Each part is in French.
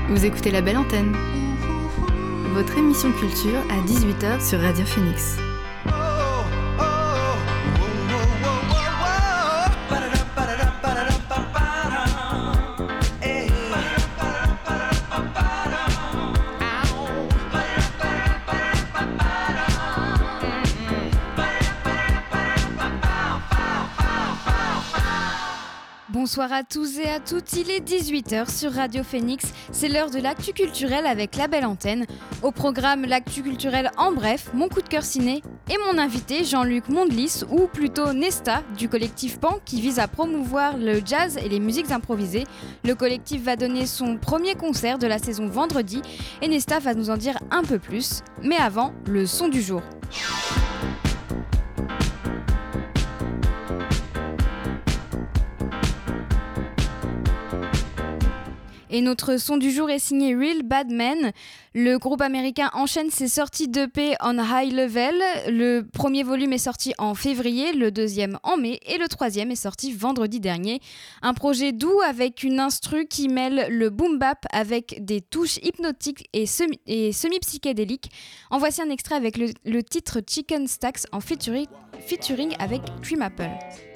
Vous écoutez La Belle Antenne, votre émission culture à 18h sur Radio Phoenix. Bonsoir à tous et à toutes, il est 18h sur Radio Phoenix, c'est l'heure de l'actu culturelle avec La Belle Antenne. Au programme, l'actu culturelle en bref, mon coup de cœur ciné et mon invité Jean-Luc Mondlis, ou plutôt Nesta, du collectif Pan qui vise à promouvoir le jazz et les musiques improvisées. Le collectif va donner son premier concert de la saison vendredi et Nesta va nous en dire un peu plus. Mais avant, le son du jour. Et notre son du jour est signé Real Bad Men. Le groupe américain enchaîne ses sorties d'EP on High Level. Le premier volume est sorti en février, le deuxième en mai et le troisième est sorti vendredi dernier. Un projet doux avec une instru qui mêle le boom bap avec des touches hypnotiques et semi-psychédéliques. En voici un extrait avec le titre Chicken Stacks en featuring avec Cream Apple.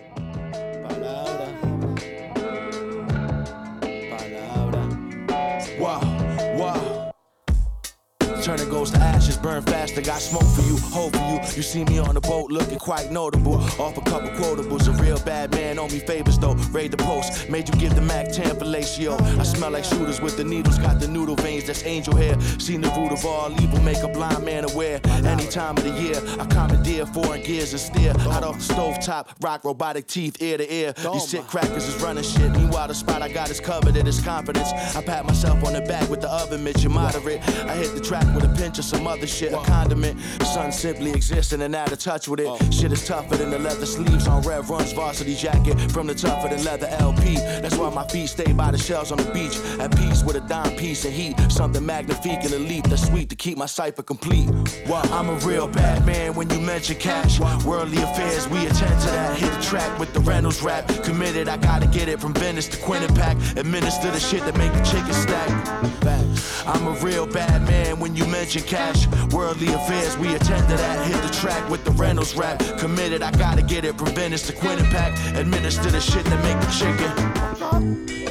Wow, wow. Turning goes to ashes, burn fast. I got smoke for you, hope for you. You see me on the boat looking quite notable. Off a couple quotables, a real bad man owe me favors though. Raid the post, made you give the Mac 10 fellatio. I smell like shooters with the needles, got the noodle veins, that's angel hair. Seen the root of all evil, make a blind man aware. Any time of the year, I commandeer foreign gears and steer. Out off the stovetop, rock robotic teeth, ear to ear. These shit crackers is running shit. Meanwhile, the spot I got is covered in his confidence. I pat myself on the back with the oven mitts, you moderate. I hit the track with a pinch of some other shit, a condiment. Sun simply exists and then out of touch with it. Shit is tougher than the leather sleeves on Rev Run's varsity jacket. From the tougher than leather LP. That's why my feet stay by the shells on the beach. At peace with a dime piece of heat. Something magnifique and elite that's sweet to keep my cipher complete. I'm a real bad man when you mention cash. Worldly affairs, we attend to that. Hit the track with the Reynolds rap. Committed, I gotta get it from Venice to Quinnipiac. Administer the shit that make the chicken stack. I'm a real bad man when you mention cash. Worldly affairs, we attend to that. Hit the track with the Reynolds rap. Committed, I gotta get it from Venice to Quinnipiac. Administer the shit that make the chicken.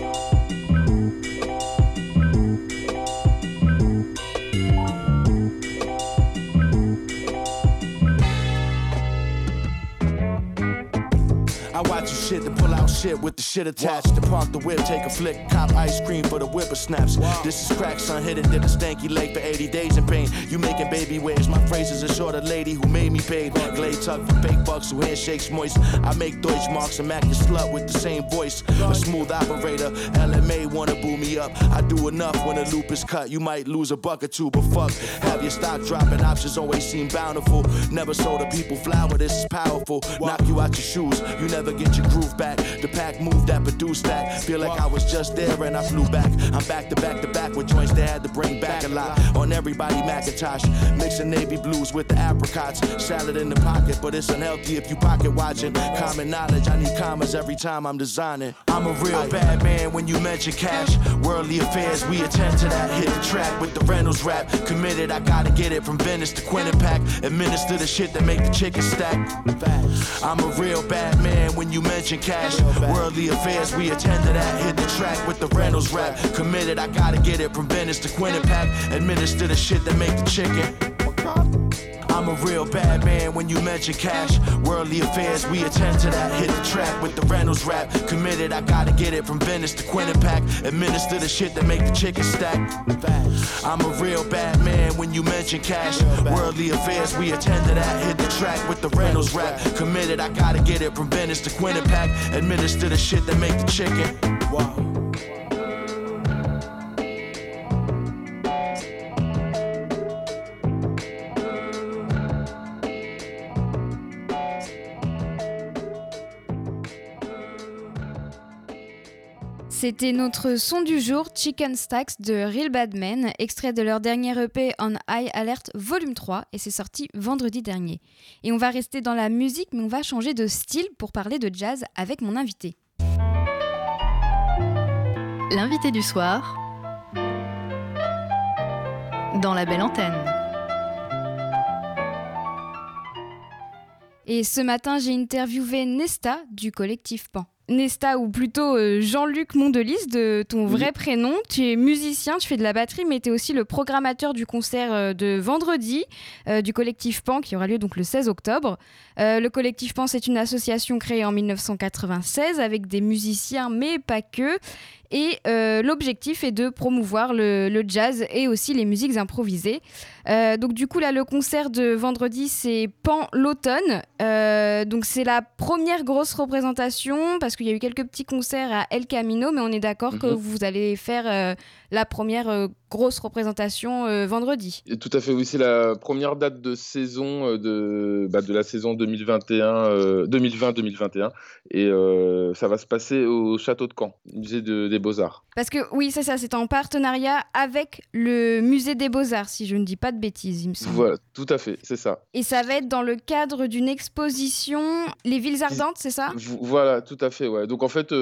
I watch you shit to pull out shit with the shit attached. To park the whip, take a flick, cop ice cream for the whippersnaps. This is crack, son, hit it, did a stanky leg for 80 days in pain. You making baby waves, my phrases are short, a lady who made me paid. Glade tuck for fake bucks who handshakes moist. I make Deutsch marks and Mac your slut with the same voice. A smooth operator, LMA wanna boo me up. I do enough when a loop is cut, you might lose a buck or two, but fuck. Have your stock dropping, options always seem bountiful. Never sold the people flour, this is powerful. Knock you out your shoes, you never get your groove back. The pack move that produced that. Feel like I was just there and I flew back. I'm back to back to back with joints they had to bring back a lot. On everybody Macintosh, mixing navy blues with the apricots. Salad in the pocket, but it's unhealthy if you pocket watching. Common knowledge, I need commas every time I'm designing. I'm a real bad man when you mention cash. Worldly affairs, we attend to that. Hit the track with the Reynolds rap. Committed, I gotta get it from Venice to Quinnipiac. Administer the shit that make the chicken stack. I'm a real bad man when you mention cash. Worldly affairs, we attend to that. Hit the track with the Reynolds rap. Committed, I gotta get it from Venice to Quinnipiac. Administer the shit that make the chicken. I'm a real bad man when you mention cash. Worldly affairs, we attend to that. Hit the track with the Reynolds rap. Committed, I gotta get it from Venice to Quinnipiac. Administer the shit that make the chicken stack. I'm a real bad man when you mention cash. Worldly affairs, we attend to that. Hit the track with the Reynolds rap. Committed, I gotta get it from Venice to Quinnipiac. Administer the shit that make the chicken. Wow. C'était notre son du jour, Chicken Stacks de Real Bad Men, extrait de leur dernier EP On High Alert Volume 3, et c'est sorti vendredi dernier. Et on va rester dans la musique, mais on va changer de style pour parler de jazz avec mon invité. L'invité du soir dans la belle antenne. Et ce matin, j'ai interviewé Nesta du collectif Pan. Nesta, ou plutôt Jean-Luc Mondelis, de ton vrai prénom. Tu es musicien, tu fais de la batterie, mais tu es aussi le programmateur du concert de vendredi du collectif Pan, qui aura lieu donc le 16 octobre. Le collectif Pan, c'est une association créée en 1996 avec des musiciens, mais pas que. Et l'objectif est de promouvoir le jazz et aussi les musiques improvisées. Donc du coup, là, le concert de vendredi, c'est Pan l'automne. Donc c'est la première grosse représentation, parce qu'il y a eu quelques petits concerts à El Camino, mais on est d'accord que vous allez faire la première grosse représentation vendredi. Et tout à fait, oui, c'est la première date de saison de la saison 2020-2021. Et ça va se passer au Château de Caen, musée des Beaux-Arts. Parce que oui, c'est ça, c'est en partenariat avec le musée des Beaux-Arts, si je ne dis pas de bêtises, il me semble. Voilà, tout à fait, c'est ça. Et ça va être dans le cadre d'une exposition Les Villes Ardentes, c'est ça ? Voilà, tout à fait, ouais. Donc en fait,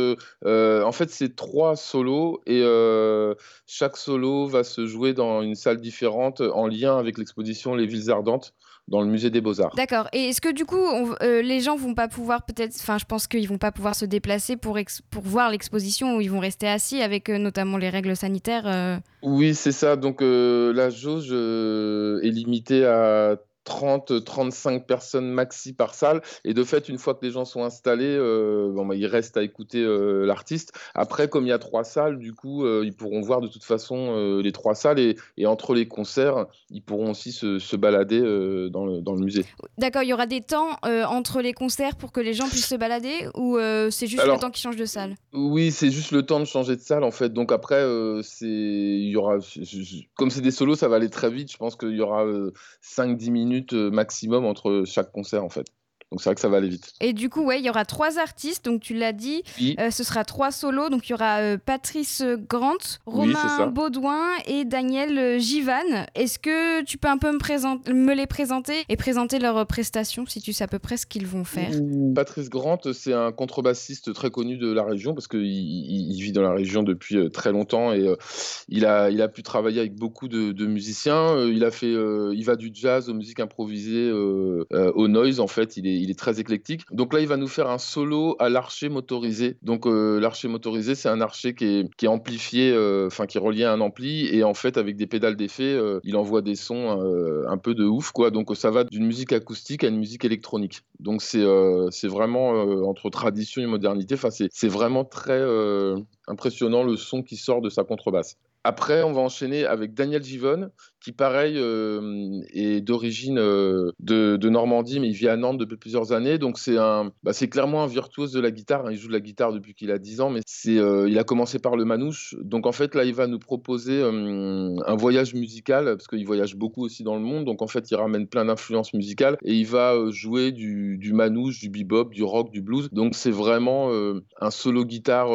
c'est 3 solos et chaque solo va se jouer dans une salle différente en lien avec l'exposition Les Villes Ardentes dans le musée des Beaux-Arts. D'accord. Et est-ce que du coup, les gens vont pas pouvoir je pense qu'ils vont pas pouvoir se déplacer pour voir l'exposition, où ils vont rester assis avec notamment les règles sanitaires Oui, c'est ça. Donc la jauge est limitée à 30-35 personnes maxi par salle, et de fait, une fois que les gens sont installés, il reste à écouter l'artiste. Après, comme il y a 3 salles, du coup, ils pourront voir de toute façon les 3 salles, et entre les concerts, ils pourront aussi se balader dans le musée. D'accord, il y aura des temps entre les concerts pour que les gens puissent se balader, ou c'est juste le temps qu'ils changent de salle ? Oui, c'est juste le temps de changer de salle, en fait. Donc après, il y aura, comme c'est des solos, ça va aller très vite. Je pense qu'il y aura 5-10 minutes maximum entre chaque concert, en fait. Donc c'est vrai que ça va aller vite. Et du coup, ouais, il y aura 3 artistes, donc tu l'as dit, oui. Ce sera 3 solos, donc il y aura Patrice Grant, Romain Baudouin et Daniel Givan. Est-ce que tu peux un peu me les présenter et présenter leurs prestations, si tu sais à peu près ce qu'ils vont faire ? Patrice Grant, c'est un contrebassiste très connu de la région, parce qu'il vit dans la région depuis très longtemps, et il a pu travailler avec beaucoup de musiciens. Il va du jazz aux musiques improvisées, au noise, en fait. Il est très éclectique. Donc là, il va nous faire un solo à l'archet motorisé. Donc l'archet motorisé, c'est un archet qui est amplifié, qui est relié à un ampli, et en fait, avec des pédales d'effet, il envoie des sons un peu de ouf, quoi. Donc ça va d'une musique acoustique à une musique électronique. Donc c'est vraiment entre tradition et modernité. Enfin, c'est vraiment très impressionnant, le son qui sort de sa contrebasse. Après, on va enchaîner avec Daniel Givon, qui, pareil, est d'origine de Normandie, mais il vit à Nantes depuis plusieurs années. Donc, c'est clairement un virtuose de la guitare. Il joue de la guitare depuis qu'il a 10 ans, mais il a commencé par le manouche. Donc, en fait, là, il va nous proposer un voyage musical, parce qu'il voyage beaucoup aussi dans le monde. Donc, en fait, il ramène plein d'influences musicales, et il va jouer du manouche, du bebop, du rock, du blues. Donc, c'est vraiment un solo guitare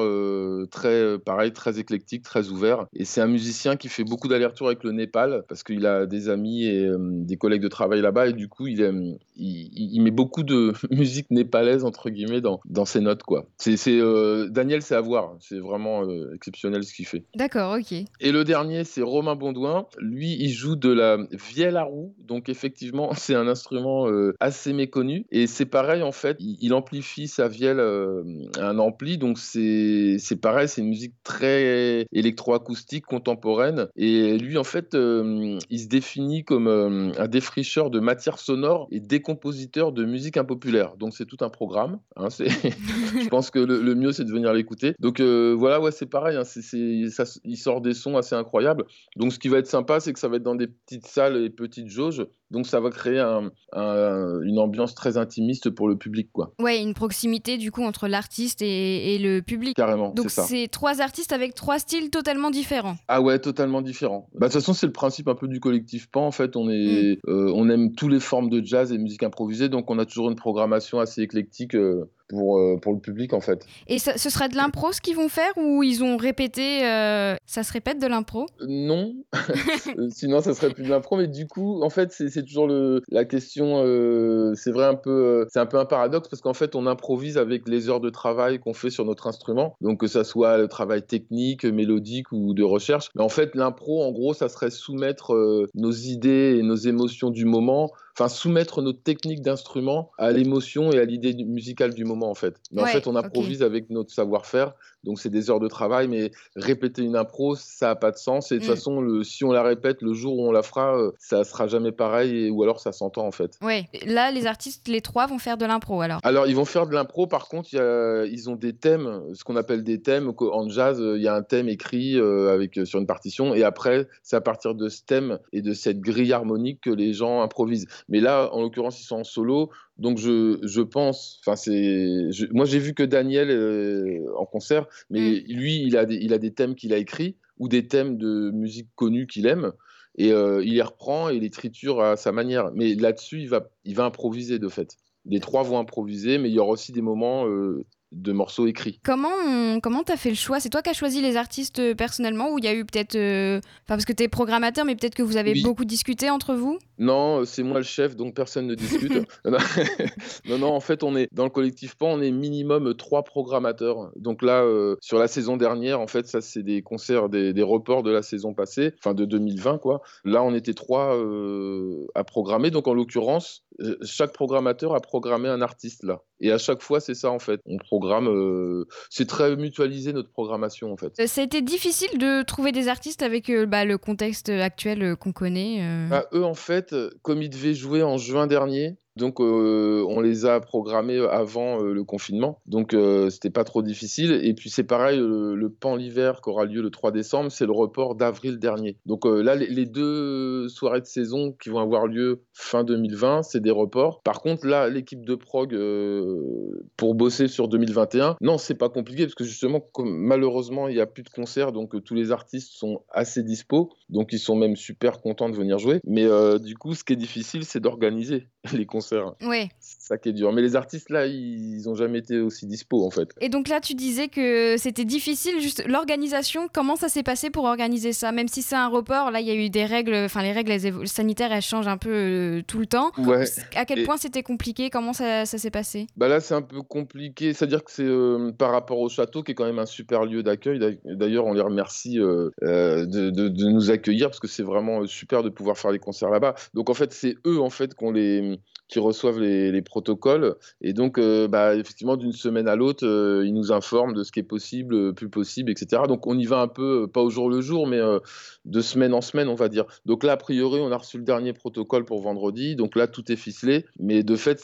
très éclectique, très ouvert. Et c'est un musicien qui fait beaucoup d'allers-retours avec le Népal, parce qu'il a des amis et des collègues de travail là-bas, et du coup il met beaucoup de musique népalaise, entre guillemets, dans ses notes, quoi. Daniel, c'est à voir, c'est vraiment exceptionnel ce qu'il fait. D'accord, ok. Et le dernier, c'est Romain Baudouin. Lui, il joue de la vielle à roue, donc effectivement c'est un instrument assez méconnu, et c'est pareil, en fait, il amplifie sa vielle à un ampli, donc c'est pareil, c'est une musique très électroacoustique, contemporaine, et lui, en fait, il se définit comme un défricheur de matière sonore et décompositeur de musique impopulaire. Donc c'est tout un programme, hein, je pense que le mieux, c'est de venir l'écouter. Donc voilà, ouais, c'est pareil, hein, il sort des sons assez incroyables. Donc ce qui va être sympa, c'est que ça va être dans des petites salles et petites jauges, donc ça va créer une ambiance très intimiste pour le public, quoi. Ouais, une proximité du coup entre l'artiste et le public. Carrément, donc c'est ça. C'est 3 artistes avec 3 styles totalement différents. Ah ouais, totalement différents. De toute façon, c'est le principe un peu du collectif Pan. En fait, on aime toutes les formes de jazz et musique improvisée, donc on a toujours une programmation assez éclectique pour le public en fait. Et ce sera de l'impro ce qu'ils vont faire ou ils ont répété ça se répète de l'impro? Non, sinon ça serait plus de l'impro, mais du coup, en fait, c'est toujours la question, c'est vrai c'est un peu un paradoxe parce qu'en fait, on improvise avec les heures de travail qu'on fait sur notre instrument, donc que ça soit le travail technique, mélodique ou de recherche. Mais en fait, l'impro, en gros, ça serait soumettre nos idées et nos émotions du moment, enfin soumettre notre technique d'instrument à l'émotion et à l'idée musicale du moment, en fait. Mais en fait, on improvise avec notre savoir-faire, donc c'est des heures de travail, mais répéter une impro, ça n'a pas de sens. Et de toute façon, si on la répète, le jour où on la fera, ça sera jamais pareil, ou alors ça s'entend en fait. Ouais, là, les artistes, les 3 vont faire de l'impro alors. Alors, ils vont faire de l'impro, par contre, ils ont des thèmes, ce qu'on appelle des thèmes. En jazz, il y a un thème écrit sur une partition, et après, c'est à partir de ce thème et de cette grille harmonique que les gens improvisent. Mais là, en l'occurrence, ils sont en solo. Donc je pense, moi j'ai vu que Daniel en concert, mais lui il a des thèmes qu'il a écrits ou des thèmes de musique connue qu'il aime et il les reprend et les triture à sa manière. Mais là-dessus il va improviser de fait. Les 3 vont improviser, mais il y aura aussi des moments de morceaux écrits. Comment t'as fait le choix? C'est toi qui as choisi les artistes personnellement ou il y a eu peut-être... parce que t'es programmateur, mais peut-être que vous avez beaucoup discuté entre vous? Non, c'est moi le chef, donc personne ne discute. Non, en fait, on est dans le collectif Pan, on est minimum 3 programmateurs. Donc là, sur la saison dernière, en fait, ça c'est des concerts, des reports de la saison passée, enfin de 2020 quoi. Là, on était 3 à programmer. Donc en l'occurrence, chaque programmateur a programmé un artiste là. Et à chaque fois, c'est ça en fait. On programme, c'est très mutualisé notre programmation en fait. Ça a été difficile de trouver des artistes avec le contexte actuel qu'on connaît. Eux, en fait, comme ils devaient jouer en juin dernier, donc on les a programmés avant le confinement, donc c'était pas trop difficile. Et puis c'est pareil, le Pan l'hiver qui aura lieu le 3 décembre, c'est le report d'avril dernier. Donc là, les 2 soirées de saison qui vont avoir lieu fin 2020, c'est des reports. Par contre, là, l'équipe de prog pour bosser sur 2021, non, c'est pas compliqué parce que justement, malheureusement, il n'y a plus de concerts, donc tous les artistes sont assez dispo, donc ils sont même super contents de venir jouer. Mais du coup, ce qui est difficile, c'est d'organiser les concerts. Ouais. C'est ça qui est dur. Mais les artistes, là, ils n'ont jamais été aussi dispo, en fait. Et donc là, tu disais que c'était difficile, juste l'organisation, comment ça s'est passé pour organiser ça? Même si c'est un report, là, il y a eu des règles, enfin, les règles sanitaires, elles changent un peu tout le temps. Ouais. À quel point c'était compliqué? Comment ça s'est passé? Bah là, c'est un peu compliqué. C'est-à-dire que c'est par rapport au château, qui est quand même un super lieu d'accueil. D'ailleurs, on les remercie de nous accueillir, parce que c'est vraiment super de pouvoir faire les concerts là-bas. Donc, en fait, c'est eux, en fait, qui reçoivent les protocoles. Et donc, effectivement, d'une semaine à l'autre, ils nous informent de ce qui est possible, plus possible, etc. Donc, on y va un peu, pas au jour le jour, mais de semaine en semaine, on va dire. Donc là, a priori, on a reçu le dernier protocole pour vendredi. Donc là, tout est ficelé. Mais de fait,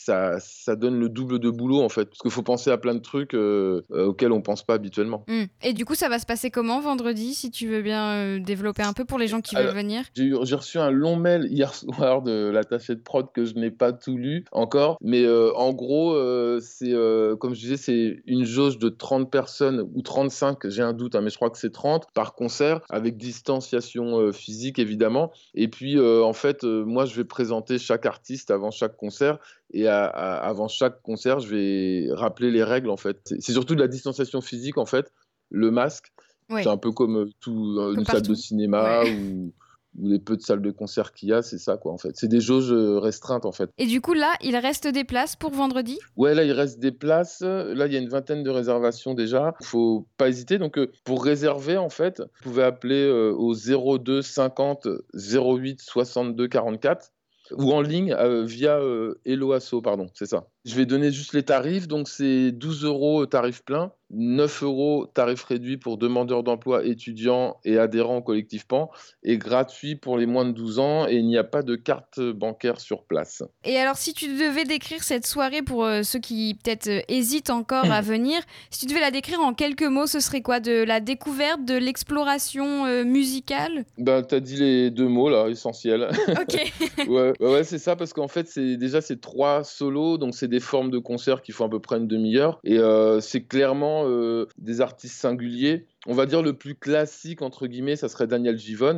ça donne le double de boulot, en fait. Parce qu'il faut penser à plein de trucs auxquels on ne pense pas habituellement. Et du coup, ça va se passer comment vendredi, si tu veux bien développer un peu pour les gens qui veulent venir? J'ai reçu un long mail hier soir de l'attaché de prod que je n'ai pas tout lu encore. Mais en gros, c'est comme je disais, c'est une jauge de 30 personnes ou 35, j'ai un doute, mais je crois que c'est 30 par concert, avec distanciation physique évidemment. Et puis en fait, moi je vais présenter chaque artiste avant chaque concert. Et avant chaque concert, je vais rappeler les règles en fait. C'est surtout de la distanciation physique en fait, le masque. Ouais. C'est un peu comme une salle de cinéma ou les peu de salles de concert qu'il y a, c'est ça quoi en fait. C'est des jauges restreintes en fait. Et du coup là, il reste des places pour vendredi? Ouais, là il reste des places. Là il y a une vingtaine de réservations déjà. Faut pas hésiter. Donc pour réserver en fait, vous pouvez appeler au 02 50 08 62 44 ou en ligne via Helloasso, pardon, c'est ça. Je vais donner juste les tarifs. Donc c'est 12 € tarif plein, 9 € tarif réduit pour demandeurs d'emploi, étudiants et adhérents au collectif Pan, et gratuit pour les moins de 12 ans, et il n'y a pas de carte bancaire sur place. Et alors, si tu devais décrire cette soirée pour ceux qui peut-être hésitent encore à venir, si tu devais la décrire en quelques mots, ce serait quoi? De la découverte, de l'exploration musicale? T'as dit les 2 mots là, essentiels. Ok. ouais, c'est ça, parce qu'en fait, c'est 3 solos, donc c'est des formes de concerts qui font à peu près une demi-heure, et c'est clairement des artistes singuliers. On va dire le plus classique, entre guillemets, ça serait Daniel Givone,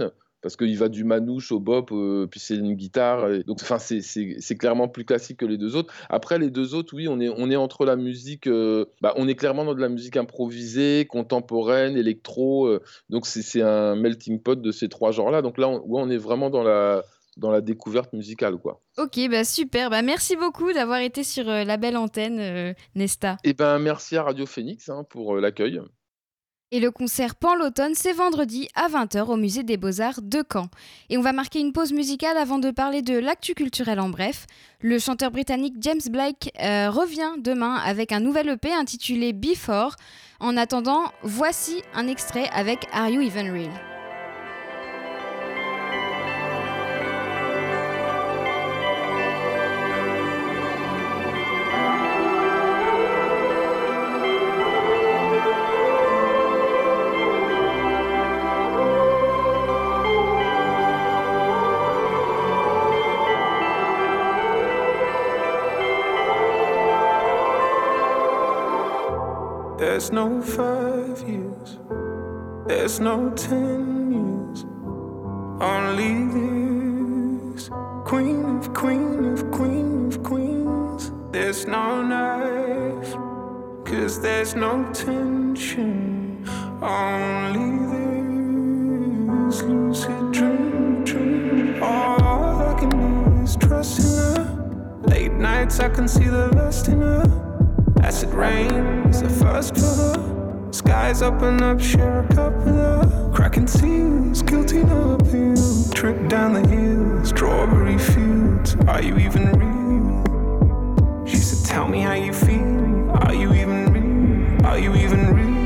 parce qu'il va du manouche au bop, puis c'est une guitare. Donc, enfin, c'est clairement plus classique que les deux autres. Après, les deux autres, oui, on est entre la musique, on est clairement dans de la musique improvisée, contemporaine, électro. Donc, c'est un melting pot de ces trois genres-là. Donc là, on est vraiment dans la découverte musicale, quoi. Ok, super. Merci beaucoup d'avoir été sur la belle antenne, Nesta. Et merci à Radio Phoenix pour l'accueil. Et le concert Pan l'automne, c'est vendredi à 20h au Musée des Beaux-Arts de Caen. Et on va marquer une pause musicale avant de parler de l'actu culturel en bref. Le chanteur britannique James Blake revient demain avec un nouvel EP intitulé Before. En attendant, voici un extrait avec Are You Even Real ? There's no 5 years, there's no 10 years, only this. Queen of queen of queen of queens. There's no knife, 'cause there's no tension, only this lucid dream. All I can do is trust in her. Late nights I can see the lust in her. Acid rain is the first for her. Skies open up, share a cup with her. Cracking seals, guilty no appeal. Trip down the hill, strawberry fields. Are you even real? She said, tell me how you feel. Are you even real? Are you even real?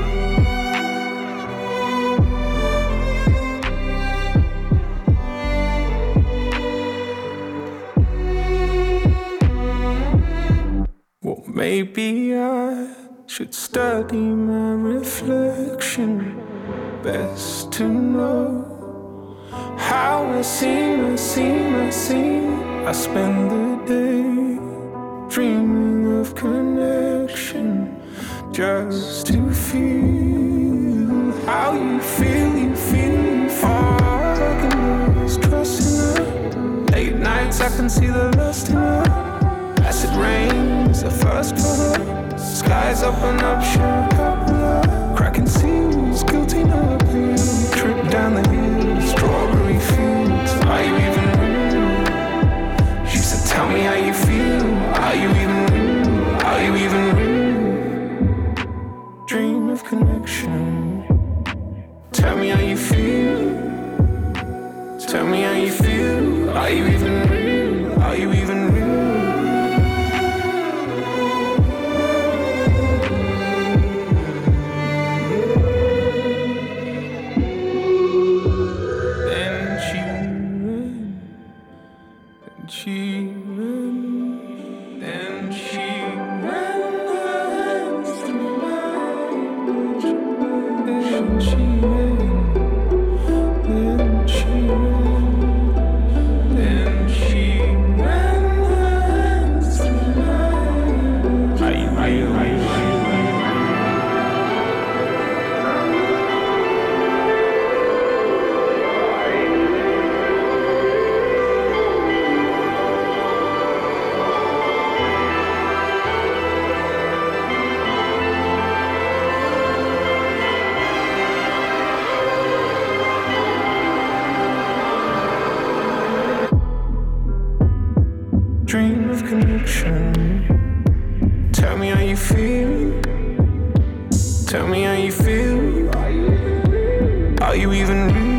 Well, maybe I should study my reflection. Best to know how I seem. I spend the day dreaming of connection, just to feel how you feel. All I can do is trust in her. Late nights I can see the lust in her. Acid rain is the first for her. Skies open up, share a cup with her. Cracking seals, guilty no appeal. Trip down the hill, strawberry fields. Are you even real? She said, tell me how you feel. Are you even real? Are you even real? Dream of connection. Tell me how you feel. Tell me how you feel. Are you even real? Are you even real? Dream of connection. Tell me how you feel. Tell me how you feel. Are you even real?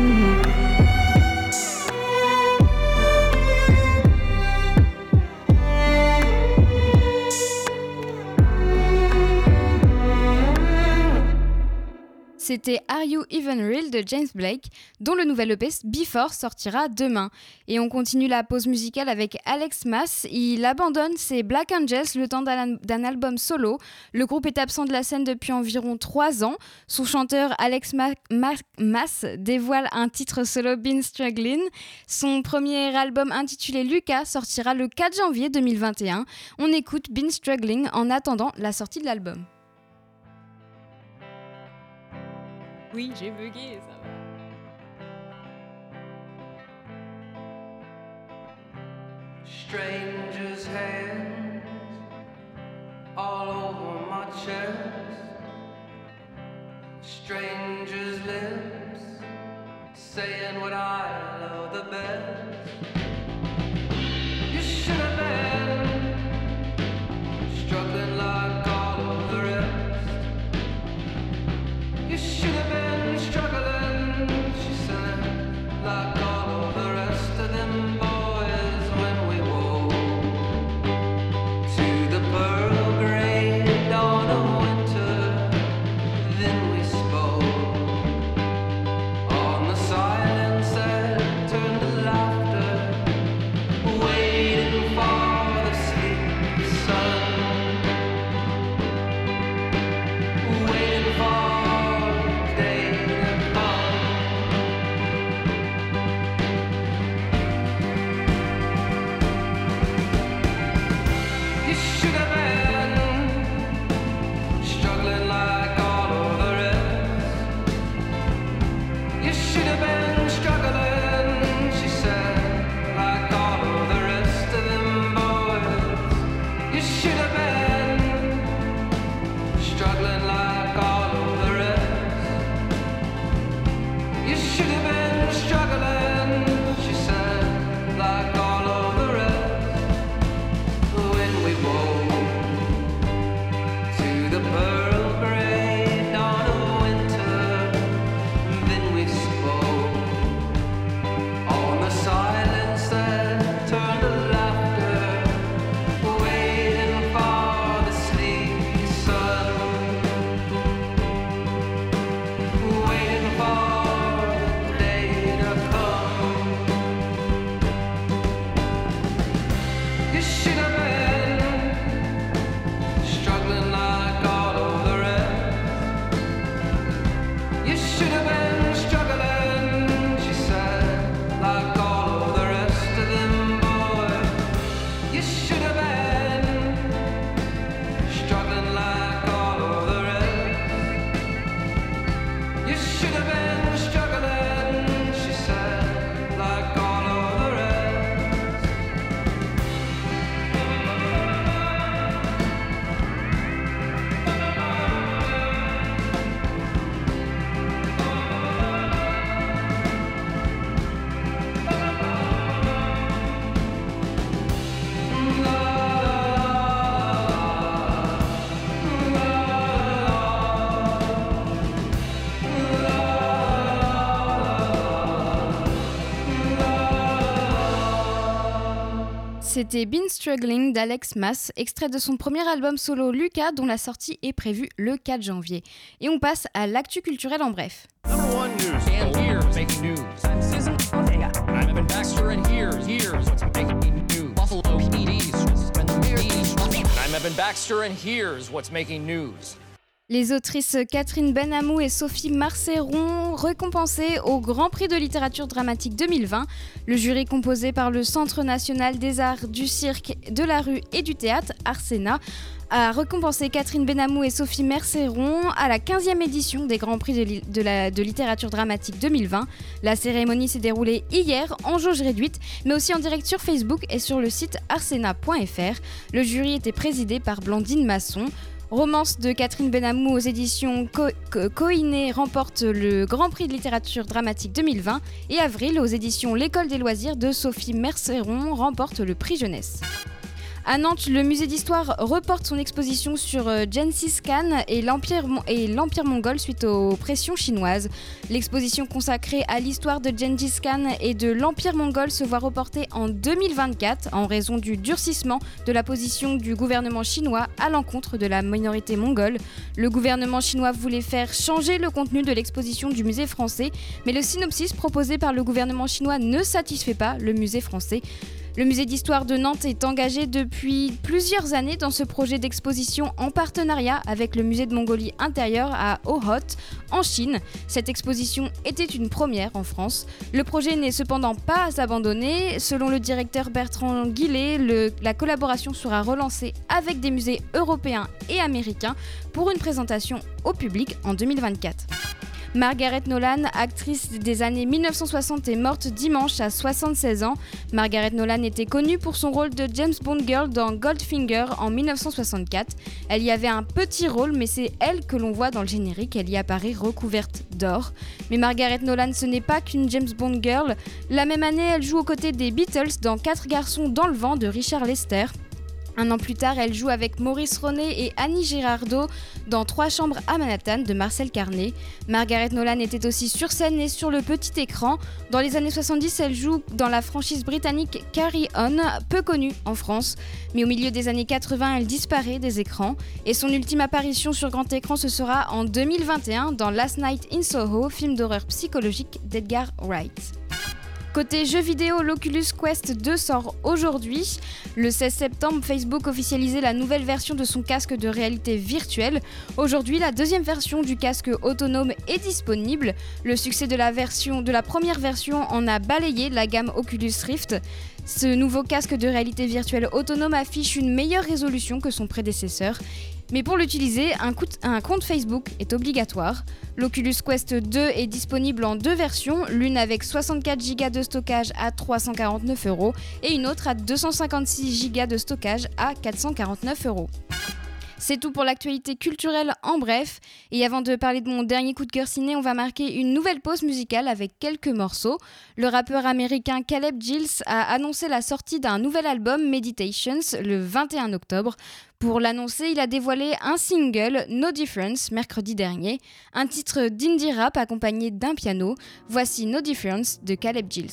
C'était Are You Even Real de James Blake, dont le nouvel EP Before sortira demain. Et on continue la pause musicale avec Alex Mas. Il abandonne ses Black Angels le temps d'un album solo. Le groupe est absent de la scène depuis environ 3 ans. Son chanteur Alex Mas dévoile un titre solo, Been Struggling. Son premier album intitulé Lucas sortira le 4 janvier 2021. On écoute Been Struggling en attendant la sortie de l'album. Oui, j'ai bugué, ça va. saying what I love the best. You should have been struggling like all of the rest. You should have been struggling, she said, like all of the rest of them boys when we woke to the pearl gray dawn of winter. Then we spoke on the silence that turned to laughter, waiting for the sleepy sun, waiting for the day to come. You should have been struggling like all of the rest. You should have been struggling, she said, like all of the rest of them boys. You should have been struggling like all of the rest. You should have been struggling, she said, like all of the rest. When we woke to the pearl gray dawn of winter, then we spoke on the silence that turned to laughter, waiting for the sleepy sun, waiting for the day to come. You should have been struggling like all of the rest. You should have been struggling, she said, like all of the rest of them boys. You should have been struggling like all of the rest. You should have been struggling, she said, like all of the rest. C'était Been Struggling d'Alex Mas, extrait de son premier album solo Lucas, dont la sortie est prévue le 4 janvier. Et on passe à l'actu culturelle en bref. Number one news. And here's making news. I'm Susan Ortega. I'm Evan Baxter, and here's what's making news. Buffalo PD's when the news. I'm Evan Baxter, and here's what's making news. Les autrices Catherine Benamou et Sophie Marceron récompensées au Grand Prix de littérature dramatique 2020. Le jury composé par le Centre national des arts du cirque, de la rue et du théâtre, Arsena, a récompensé Catherine Benamou et Sophie Marceron à la 15e édition des Grands Prix de littérature dramatique 2020. La cérémonie s'est déroulée hier en jauge réduite, mais aussi en direct sur Facebook et sur le site arsena.fr. Le jury était présidé par Blandine Masson. Romance de Catherine Benamou aux éditions Coïné remporte le Grand Prix de littérature dramatique 2020 et Avril aux éditions L'École des loisirs de Sophie Marceron remporte le prix jeunesse. À Nantes, le musée d'histoire reporte son exposition sur Gengis Khan et l'Empire mongol suite aux pressions chinoises. L'exposition consacrée à l'histoire de Gengis Khan et de l'Empire mongol se voit reportée en 2024 en raison du durcissement de la position du gouvernement chinois à l'encontre de la minorité mongole. Le gouvernement chinois voulait faire changer le contenu de l'exposition du musée français, mais le synopsis proposé par le gouvernement chinois ne satisfait pas le musée français. Le musée d'histoire de Nantes est engagé depuis plusieurs années dans ce projet d'exposition en partenariat avec le musée de Mongolie intérieure à Ohot, en Chine. Cette exposition était une première en France. Le projet n'est cependant pas abandonné. Selon le directeur Bertrand Guillet, la collaboration sera relancée avec des musées européens et américains pour une présentation au public en 2024. Margaret Nolan, actrice des années 1960, est morte dimanche à 76 ans. Margaret Nolan était connue pour son rôle de James Bond Girl dans Goldfinger en 1964. Elle y avait un petit rôle, mais c'est elle que l'on voit dans le générique. Elle y apparaît recouverte d'or. Mais Margaret Nolan, ce n'est pas qu'une James Bond Girl. La même année, elle joue aux côtés des Beatles dans 4 garçons dans le vent de Richard Lester. Un an plus tard, elle joue avec Maurice Ronet et Annie Girardot dans 3 chambres à Manhattan de Marcel Carné. Margaret Nolan était aussi sur scène et sur le petit écran. Dans les années 70, elle joue dans la franchise britannique Carry On, peu connue en France. Mais au milieu des années 80, elle disparaît des écrans. Et son ultime apparition sur grand écran, ce sera en 2021 dans Last Night in Soho, film d'horreur psychologique d'Edgar Wright. Côté jeux vidéo, l'Oculus Quest 2 sort aujourd'hui. Le 16 septembre, Facebook officialisait la nouvelle version de son casque de réalité virtuelle. Aujourd'hui, la deuxième version du casque autonome est disponible. Le succès de la première version en a balayé la gamme Oculus Rift. Ce nouveau casque de réalité virtuelle autonome affiche une meilleure résolution que son prédécesseur. Mais pour l'utiliser, un compte Facebook est obligatoire. L'Oculus Quest 2 est disponible en 2 versions, l'une avec 64 Go de stockage à 349 € et une autre à 256 Go de stockage à 449 €. C'est tout pour l'actualité culturelle en bref. Et avant de parler de mon dernier coup de cœur ciné, on va marquer une nouvelle pause musicale avec quelques morceaux. Le rappeur américain Caleb Gills a annoncé la sortie d'un nouvel album, Meditations, le 21 octobre. Pour l'annoncer, il a dévoilé un single, No Difference, mercredi dernier, un titre d'indie rap accompagné d'un piano. Voici No Difference de Caleb Gills.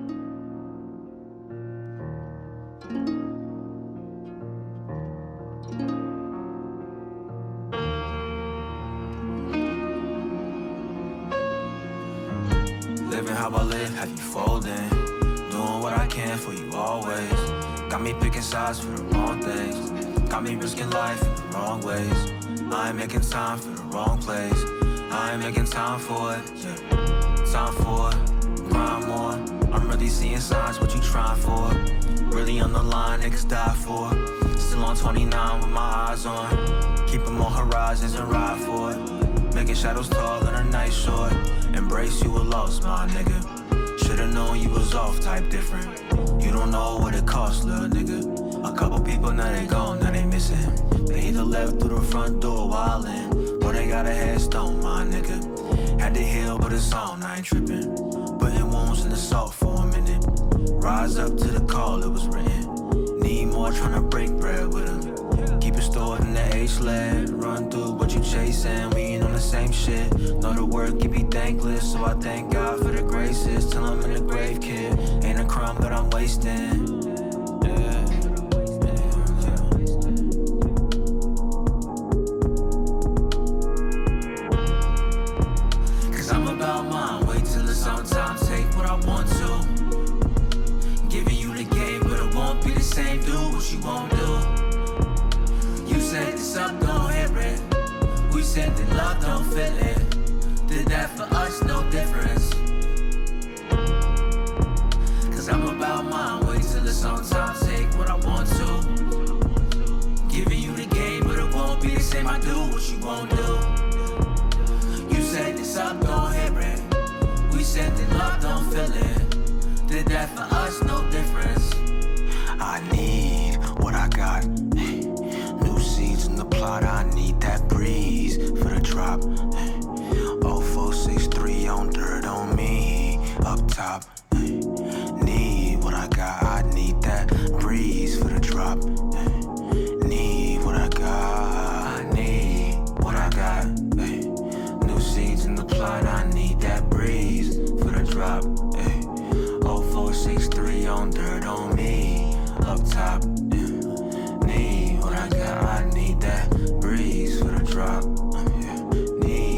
Living how I live, have you folding? Doing what I can for you always. Got me picking sides for the wrong things. Got me risking life in the wrong ways. I ain't making time for the wrong place. I ain't making time for it, yeah. Time for it, grind more. I'm really seeing signs, what you trying for? Really on the line, niggas die for. Still on 29 with my eyes on. Keep them on horizons and ride for it. Making shadows tall and a night short. Embrace you a loss, my nigga. Should've known you was off type different. You don't know what it costs, little nigga. A couple people, now they gone, now they missing. They either left through the front door wildin', or they got a headstone, my nigga. Had to heal, but it's on, I ain't trippin'. Putting wounds in the salt for a minute. Rise up to the call, it was written. Need more, tryna break bread with him. Keep it stored in the H-Lab. Run through what you chasing, we ain't on the same shit. Know the work can be thankless, so I thank God for the graces. Till I'm in the grave, kid. Ain't a crumb that I'm wasting. She won't do. You said this up, don't hear it. We said that love don't feel it. Did that for us, no difference. Cause I'm about mine, wait till it's on time, take what I want to. Giving you the game, but it won't be the same, I do what you won't do. You said this up, don't hear it. We said that love don't feel it. Did that for us, no difference. I need what I got. New seeds in the plot, I need that breeze for the drop. 0463 on dirt on me, up top. Need what I got, I need that breeze for the drop. Need what I got, I need what I got. New seeds in the plot, I need that breeze for the drop. 0463 on dirt on me, up top. Need what I got, I need that breeze for the drop. Need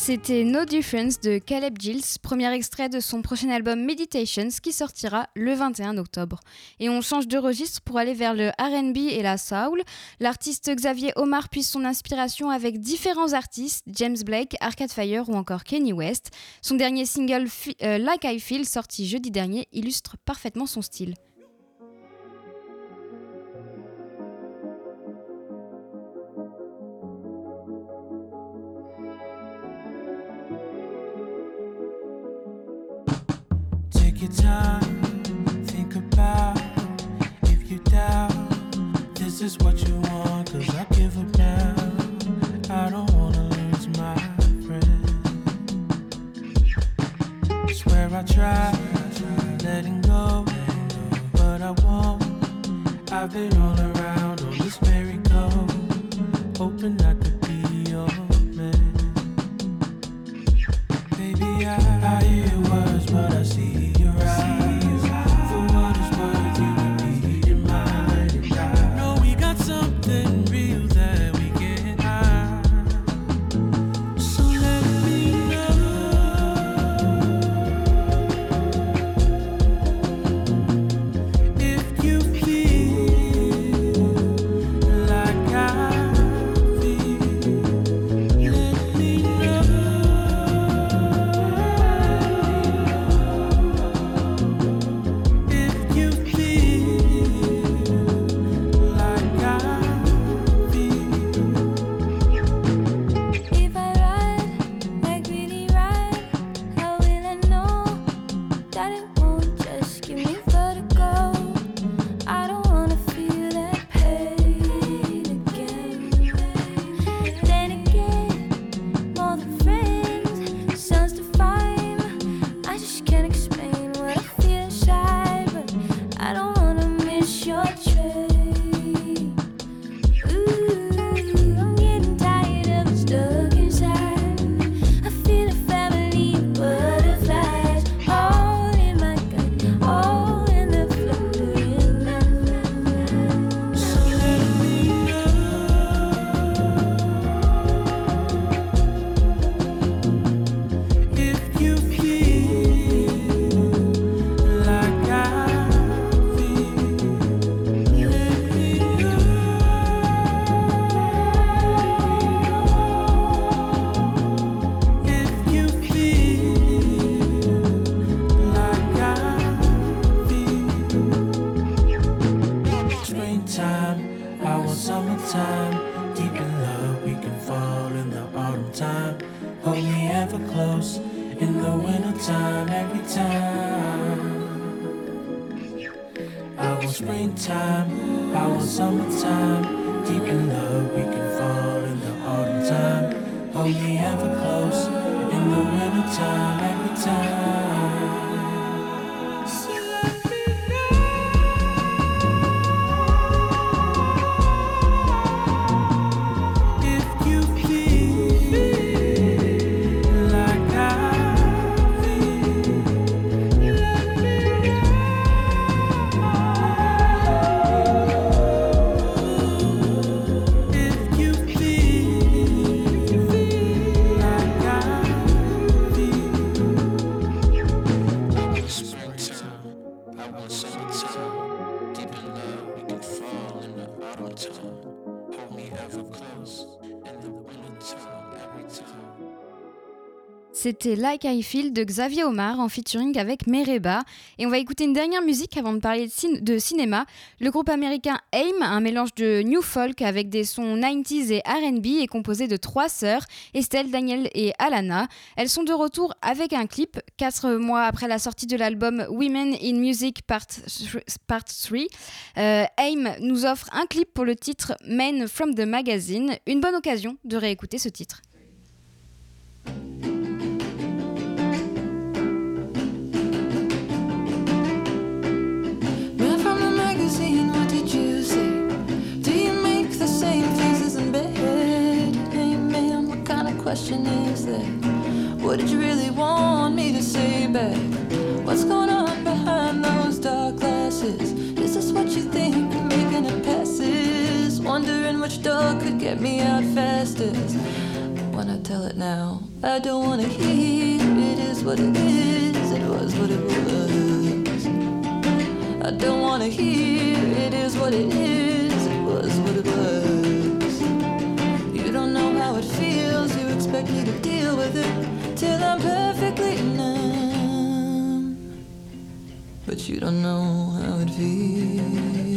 C'était No Difference de Caleb Gills, premier extrait de son prochain album Meditations qui sortira le 21 octobre. Et on change de registre pour aller vers le R&B et la soul. L'artiste Xavier Omar puise son inspiration avec différents artistes, James Blake, Arcade Fire ou encore Kanye West. Son dernier single Like I Feel, sorti jeudi dernier, illustre parfaitement son style. Take your time, think about if you doubt. This is what you want, 'cause I give up now. I don't wanna lose my friend. Swear I tried letting go, but I won't. I've been all around on this merry-go, hoping I could be your man. Baby, I hear words, but I see your eyes. For what it's worth, you repeat your mind and die. No, we got something real that we can't hide. So let me know if you feel like I feel. Let me know. If you feel like I feel. If I ride, like really ride, how will I know that it won't just give me vertigo? I don't wanna feel that pain again. Then again, more than friends, sounds divine. I just can't explain what I feel inside, but I don't wanna miss your train. Ooh, I'm getting tired of it stuck inside. I feel a family of butterflies, all in my gut, all in the fluttering night. So let me know if you feel like I feel. Let me know if you feel like I feel. Springtime, I want summertime. Deep in love, we can fall in the autumn time. Hold me ever close in the wintertime, every time. I want springtime, I want summertime. Deep in love, we can fall in the autumn time. Hold me ever close in the wintertime, every time. So let me know if you feel like I feel. Let me know if you feel like I feel. Springtime, I want summertime. Deep in love, we can fall in the autumn time. Hold me ever close in the wintertime, every time. C'était Like I Feel de Xavier Omar en featuring avec Mereba. Et on va écouter une dernière musique avant de parler de cinéma. Le groupe américain AIM, un mélange de new folk avec des sons 90s et R&B, est composé de 3 sœurs, Estelle, Danielle et Alana. Elles sont de retour avec un clip, 4 mois après la sortie de l'album Women in Music Part 3. AIM nous offre un clip pour le titre Men from the Magazine, une bonne occasion de réécouter ce titre. Man from the magazine, what did you say? Do you make the same faces in bed? Hey man, what kind of question is that? What did you really want me to say back? What's going on behind those dark glasses? Is this what you think, making it passes? Wondering which door could get me out fastest. When when I tell it now. I don't wanna hear it is what it is, it was what it was. I don't wanna hear it is what it is, it was what it was. You don't know how it feels, you expect me to deal with it till I'm perfectly numb. But you don't know how it feels.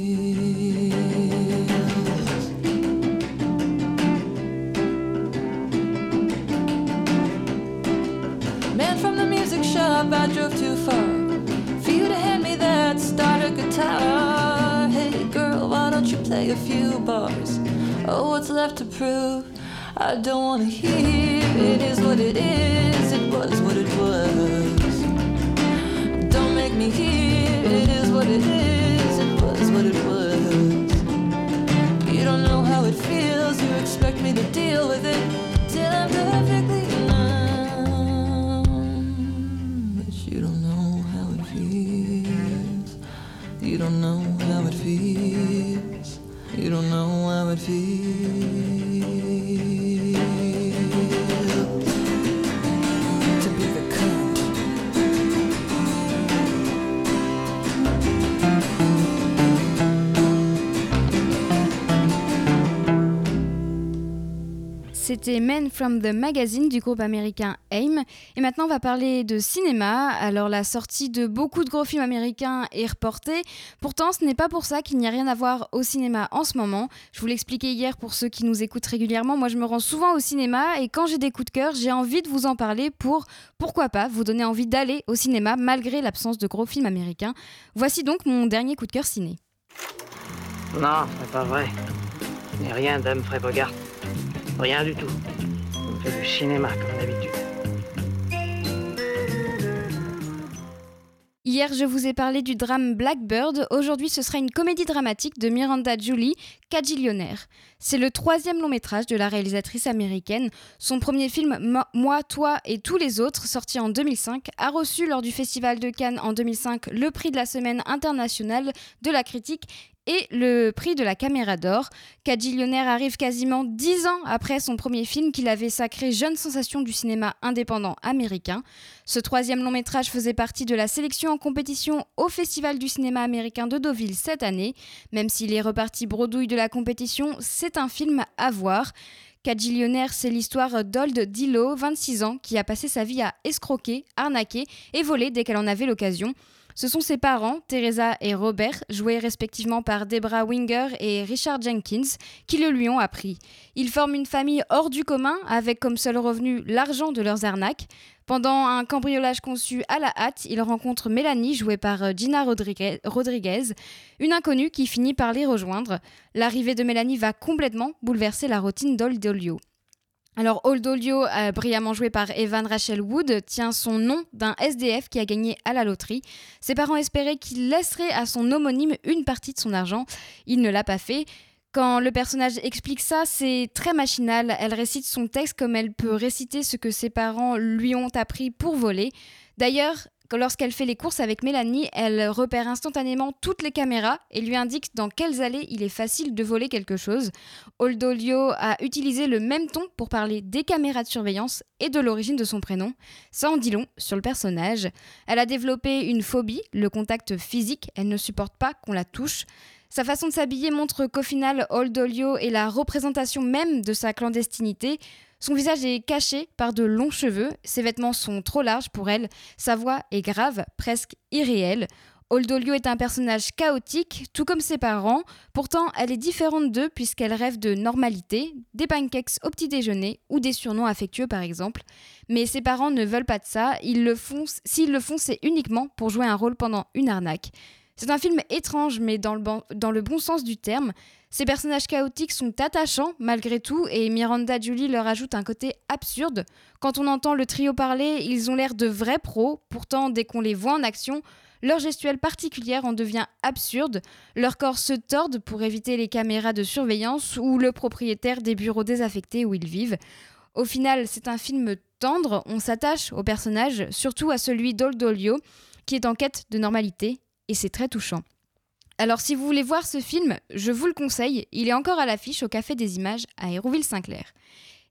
Man from the music shop, I drove too far for you to hand me that starter guitar. Hey girl, why don't you play a few bars? Oh, what's left to prove? I don't wanna hear it is what it is, it was what it was. Don't make me hear it is what it is, it was what it was. You don't know how it feels, you expect me to deal with it till I'm perfectly numb. But you don't know how it feels. You don't know how it feels. You don't know how it feels. To be the cunt. C'était Men from the Magazine du groupe américain AIM. Et maintenant, on va parler de cinéma. Alors, la sortie de beaucoup de gros films américains est reportée. Pourtant, ce n'est pas pour ça qu'il n'y a rien à voir au cinéma en ce moment. Je vous l'expliquais hier pour ceux qui nous écoutent régulièrement. Moi, je me rends souvent au cinéma et quand j'ai des coups de cœur, j'ai envie de vous en parler pour, pourquoi pas, vous donner envie d'aller au cinéma malgré l'absence de gros films américains. Voici donc mon dernier coup de cœur ciné. Non, c'est pas vrai. Ce n'est rien d'Humphrey Bogart. Rien du tout. On fait du cinéma comme d'habitude. Hier, je vous ai parlé du drame Blackbird. Aujourd'hui, ce sera une comédie dramatique de Miranda Julie, Quadrillionnaire. C'est le 3e long métrage de la réalisatrice américaine. Son premier film, Moi, Toi et tous les autres, sorti en 2005, a reçu lors du Festival de Cannes en 2005 le prix de la Semaine internationale de la critique et le prix de la Caméra d'Or. Quadrillionnaire arrive quasiment 10 ans après son premier film qu'il avait sacré jeune sensation du cinéma indépendant américain. Ce 3e long métrage faisait partie de la sélection en compétition au Festival du cinéma américain de Deauville cette année. Même s'il est reparti bredouille de la compétition, c'est un film à voir. Quadrillionnaire, c'est l'histoire d'Old Dillo, 26 ans, qui a passé sa vie à escroquer, arnaquer et voler dès qu'elle en avait l'occasion. Ce sont ses parents, Teresa et Robert, joués respectivement par Debra Winger et Richard Jenkins, qui le lui ont appris. Ils forment une famille hors du commun, avec comme seul revenu l'argent de leurs arnaques. Pendant un cambriolage conçu à la hâte, ils rencontrent Mélanie, jouée par Gina Rodriguez, une inconnue qui finit par les rejoindre. L'arrivée de Mélanie va complètement bouleverser la routine d'Old Dillo. Alors, Old Dillo, brillamment joué par Evan Rachel Wood, tient son nom d'un SDF qui a gagné à la loterie. Ses parents espéraient qu'il laisserait à son homonyme une partie de son argent. Il ne l'a pas fait. Quand le personnage explique ça, c'est très machinal. Elle récite son texte comme elle peut réciter ce que ses parents lui ont appris pour voler. D'ailleurs, lorsqu'elle fait les courses avec Mélanie, elle repère instantanément toutes les caméras et lui indique dans quelles allées il est facile de voler quelque chose. Old Dillo a utilisé le même ton pour parler des caméras de surveillance et de l'origine de son prénom. Ça en dit long sur le personnage. Elle a développé une phobie, le contact physique, elle ne supporte pas qu'on la touche. Sa façon de s'habiller montre qu'au final, Old Dillo est la représentation même de sa clandestinité. Son visage est caché par de longs cheveux, ses vêtements sont trop larges pour elle, sa voix est grave, presque irréelle. Old Dillo est un personnage chaotique, tout comme ses parents. Pourtant, elle est différente d'eux puisqu'elle rêve de normalité, des pancakes au petit déjeuner ou des surnoms affectueux par exemple. Mais ses parents ne veulent pas de ça, s'ils le font, c'est uniquement pour jouer un rôle pendant une arnaque. C'est un film étrange, mais dans le bon sens du terme. Ces personnages chaotiques sont attachants malgré tout et Miranda Julie leur ajoute un côté absurde. Quand on entend le trio parler, ils ont l'air de vrais pros. Pourtant, dès qu'on les voit en action, leur gestuelle particulière en devient absurde. Leurs corps se tordent pour éviter les caméras de surveillance ou le propriétaire des bureaux désaffectés où ils vivent. Au final, c'est un film tendre. On s'attache aux personnages, surtout à celui d'Old Dillo, qui est en quête de normalité. Et c'est très touchant. Alors si vous voulez voir ce film, je vous le conseille, il est encore à l'affiche au Café des Images à Hérouville-Saint-Clair.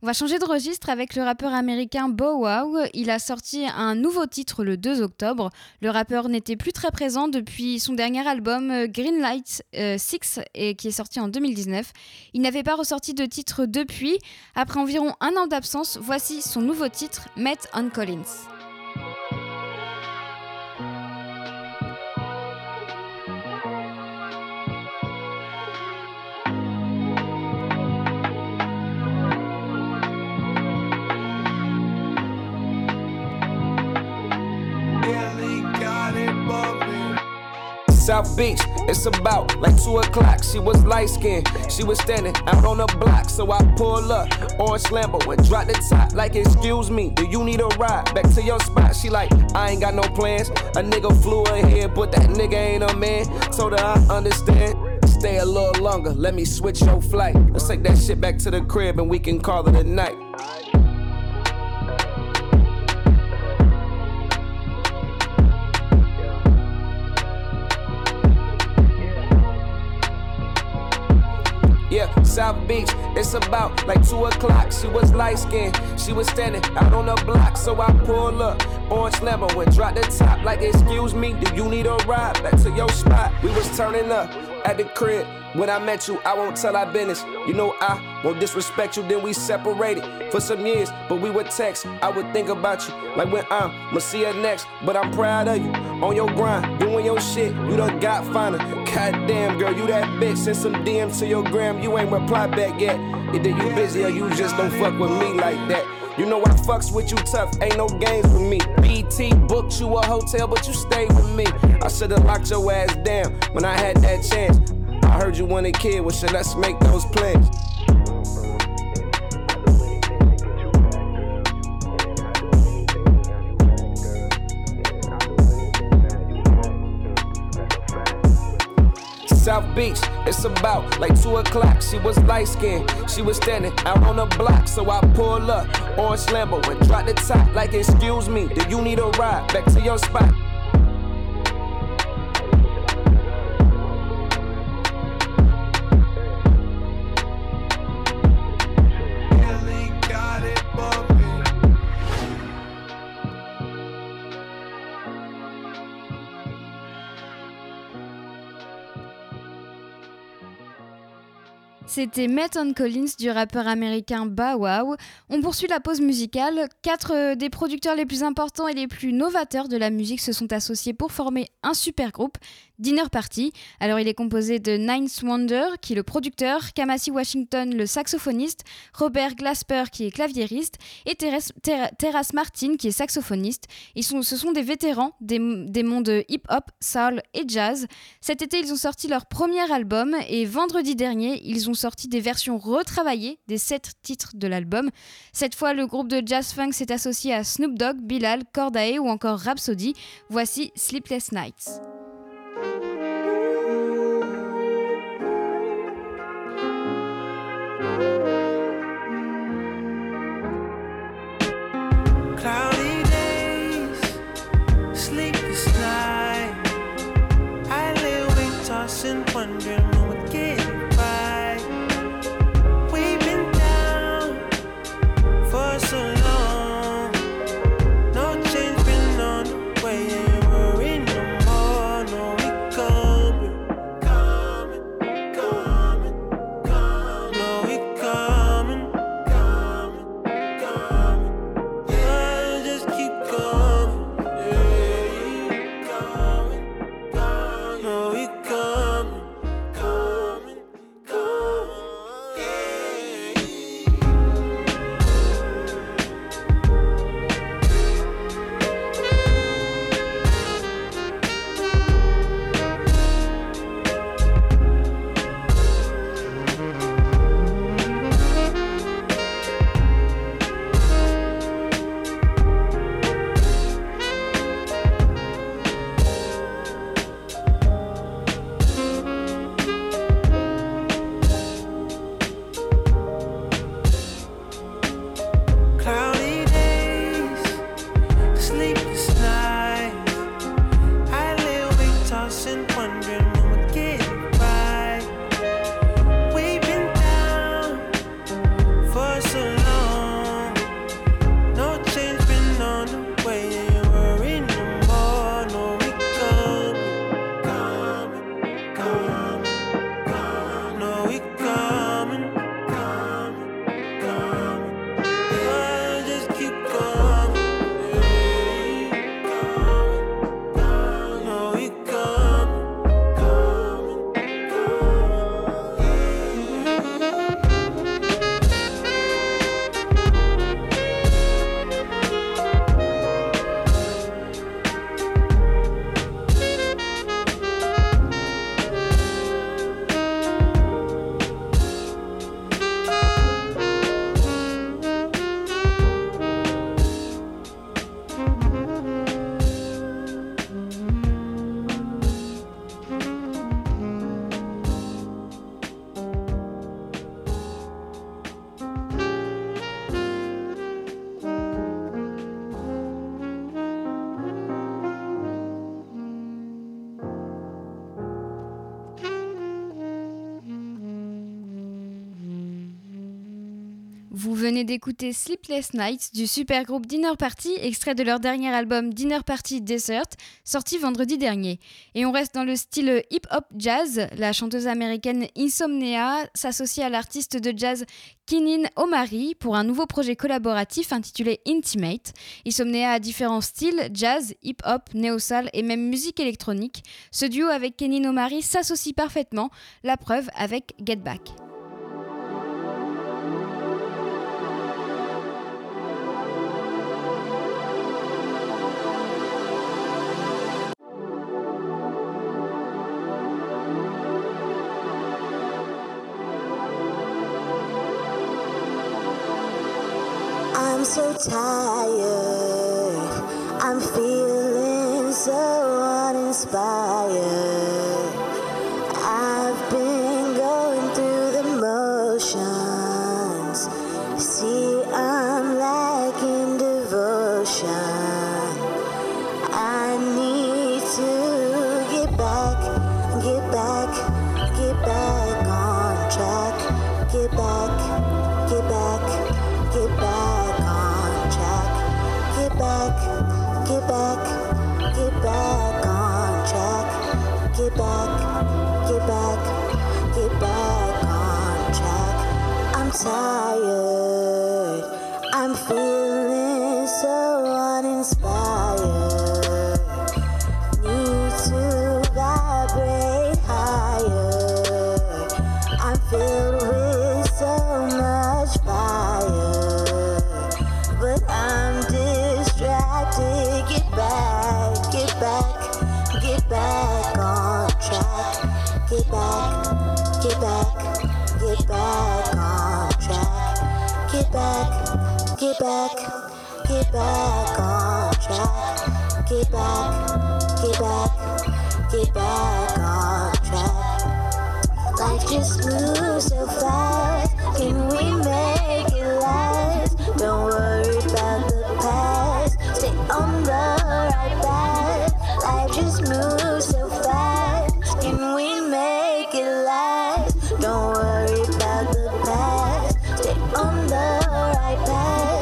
On va changer de registre avec le rappeur américain Bow Wow. Il a sorti un nouveau titre le 2 octobre. Le rappeur n'était plus très présent depuis son dernier album Greenlight 6 qui est sorti en 2019. Il n'avait pas ressorti de titre depuis. Après environ un an d'absence, voici son nouveau titre, Met on Collins. South Beach, it's about like 2 o'clock. She was light-skinned, she was standing out on the block. So I pull up, orange Lambo and drop the top. Like, excuse me, do you need a ride back to your spot? She like, I ain't got no plans. A nigga flew ahead, but that nigga ain't a man. Told her I understand. Stay a little longer, let me switch your flight. Let's take that shit back to the crib and we can call it a night. Yeah, South Beach, it's about like 2 o'clock. She was light-skinned, she was standing out on the block. So I pull up, orange Lambo and drop the top. Like, excuse me, do you need a ride back to your spot? We was turning up at the crib. When I met you, I won't tell our business. You know I won't disrespect you, then we separated for some years. But we would text, I would think about you like when I'ma see her next. But I'm proud of you, on your grind, doing your shit. You done got finer. Goddamn girl, you that bitch. Send some DMs to your gram, you ain't reply back yet. Either you busy or you just don't fuck with me like that. You know I fucks with you tough, ain't no games with me. BT booked you a hotel, but you stayed with me. I should've locked your ass down when I had that chance. I heard you want a kid, well shit, let's make those plans. South Beach, it's about like 2 o'clock. She was light-skinned, she was standing out on the block. So I pull up, orange Lambo and drop the top. Like, excuse me, do you need a ride back to your spot? C'était Met on Collins du rappeur américain Bow Wow. On poursuit la pause musicale. 4 des producteurs les plus importants et les plus novateurs de la musique se sont associés pour former un super groupe, Dinner Party. Alors il est composé de Ninth Wonder qui est le producteur, Kamasi Washington le saxophoniste, Robert Glasper qui est claviériste et Terrace Martin qui est saxophoniste. Ce sont des vétérans des mondes hip-hop, soul et jazz. Cet été ils ont sorti leur premier album et vendredi dernier ils ont sorti des versions retravaillées des 7 titres de l'album. Cette fois le groupe de jazz funk s'est associé à Snoop Dogg, Bilal, Cordae ou encore Rhapsody. Voici Sleepless Nights. Cloudy days, sleepless night. I lay awake tossing, wondering when we'll get it right. We've been down for so long, no change been on the way. Ain't worried no more, no we coming, coming, coming, coming. No we coming, coming, coming. Yeah, just keep coming, yeah, coming, coming. No we coming, coming. Vous venez d'écouter Sleepless Nights du supergroupe Dinner Party, extrait de leur dernier album Dinner Party Dessert, sorti vendredi dernier. Et on reste dans le style hip-hop jazz. La chanteuse américaine Insomnia s'associe à l'artiste de jazz Keenen Omari pour un nouveau projet collaboratif intitulé Intimate. Insomnia a différents styles, jazz, hip-hop, néo-soul et même musique électronique. Ce duo avec Keenen Omari s'associe parfaitement, la preuve avec Get Back. I'm so tired, I'm feeling so uninspired. I've been going through the motions. See, I'm lacking devotion. I need to get back on track. Get back on track. Get back on track. Get back on track. I'm tired, I'm feeling so uninspired. Need to vibrate higher. I'm filled with so much fire, but I'm distracted. Get back on track. Get back on track. Get back on track. Get back on track. Life just moves so fast. Can we make it last? Don't worry about the past. Stay on the right path. Life just moves so fast. Can we make it last? Don't worry about the past. Stay on the right path.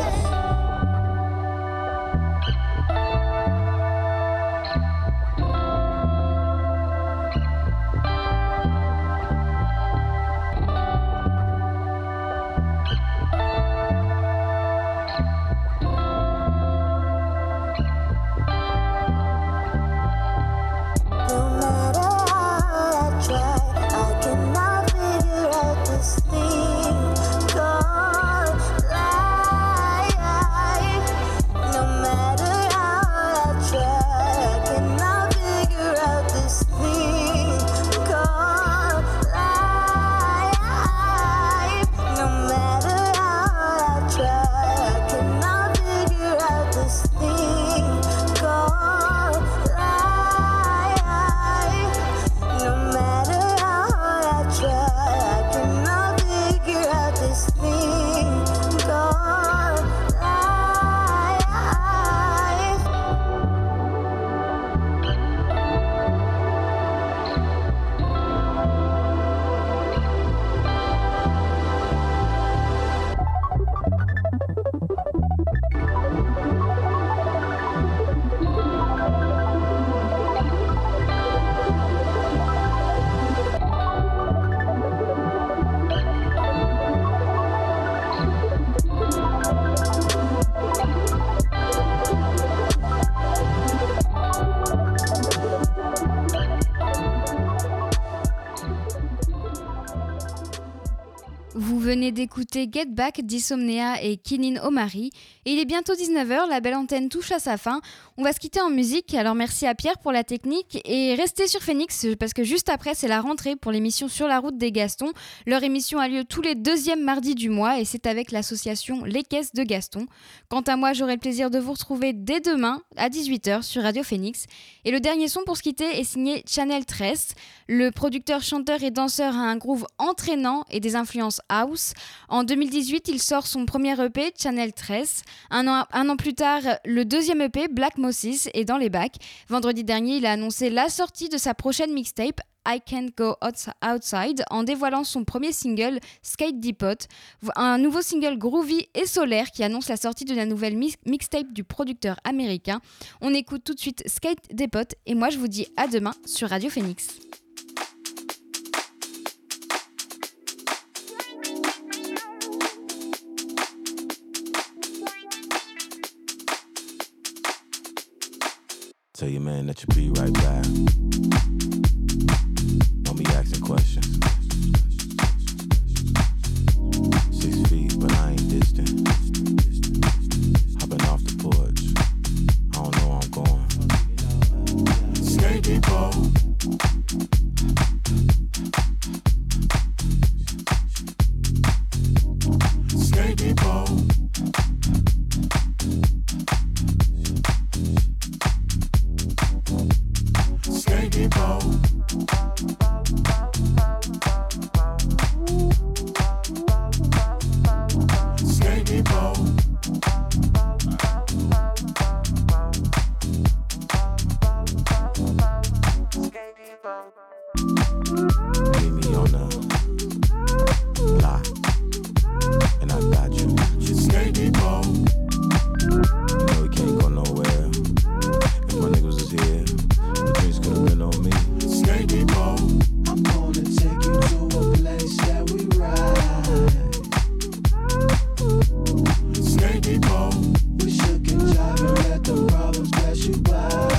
Vous venez d'écouter Get Back d'Insomnia et Keenen Omari. Et il est bientôt 19h, la belle antenne touche à sa fin. On va se quitter en musique, alors merci à Pierre pour la technique. Et restez sur Phoenix, parce que juste après, c'est la rentrée pour l'émission Sur la route des Gastons. Leur émission a lieu tous les deuxièmes mardis du mois et c'est avec l'association Les Caisses de Gaston. Quant à moi, j'aurai le plaisir de vous retrouver dès demain à 18h sur Radio Phoenix. Et le dernier son pour se quitter est signé Channel 13. Le producteur, chanteur et danseur a un groove entraînant et des influences house. En 2018, il sort son premier EP, Channel 13. Un an plus tard, le deuxième EP, Black Mosses, est dans les bacs. Vendredi dernier, il a annoncé la sortie de sa prochaine mixtape, I Can't Go Outside en dévoilant son premier single Skate Depot, un nouveau single groovy et solaire qui annonce la sortie de la nouvelle mixtape du producteur américain. On écoute tout de suite Skate Depot et moi je vous dis à demain sur Radio Phoenix. Tell your man that you'll be right back. Don't be asking questions. 6 feet, but I ain't distant. Hopping off the porch. I don't know where I'm going. Skate depot. Skate depot. Skate depot. Skate depot. Meet me on the block, and I got you. Skate depot. You know we can't go nowhere. If my niggas was here, the drinks could've been on me. Skate depot. I'm gonna take you to a place that we ride. Skate depot. We shook and jive and let the problems pass you by.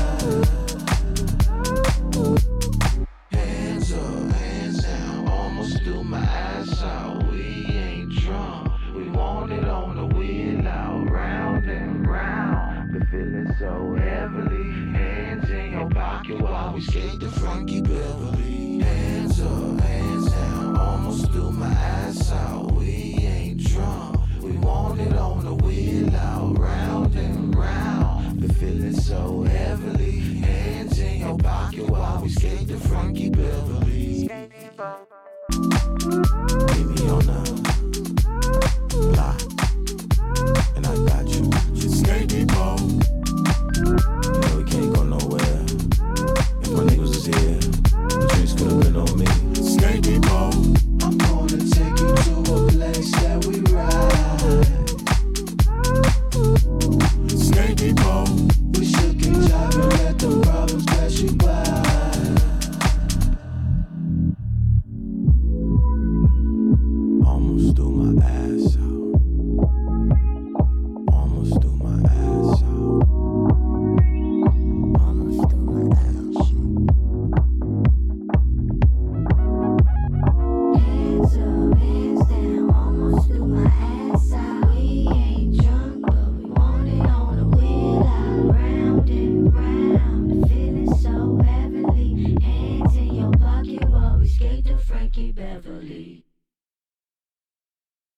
Hands up, hands down, almost threw my ass out. We ain't drunk, we want it on the wheel out, round and round. Been feeling so heavily. Hands in your pocket while we skate the Frankie Beverly. Hands up, hands down, almost threw my ass out. We ain't drunk, we want it on the wheel out, round and round. Been feeling so heavily. Hands in your pocket while we skate the Frankie Beverly. Meet me on the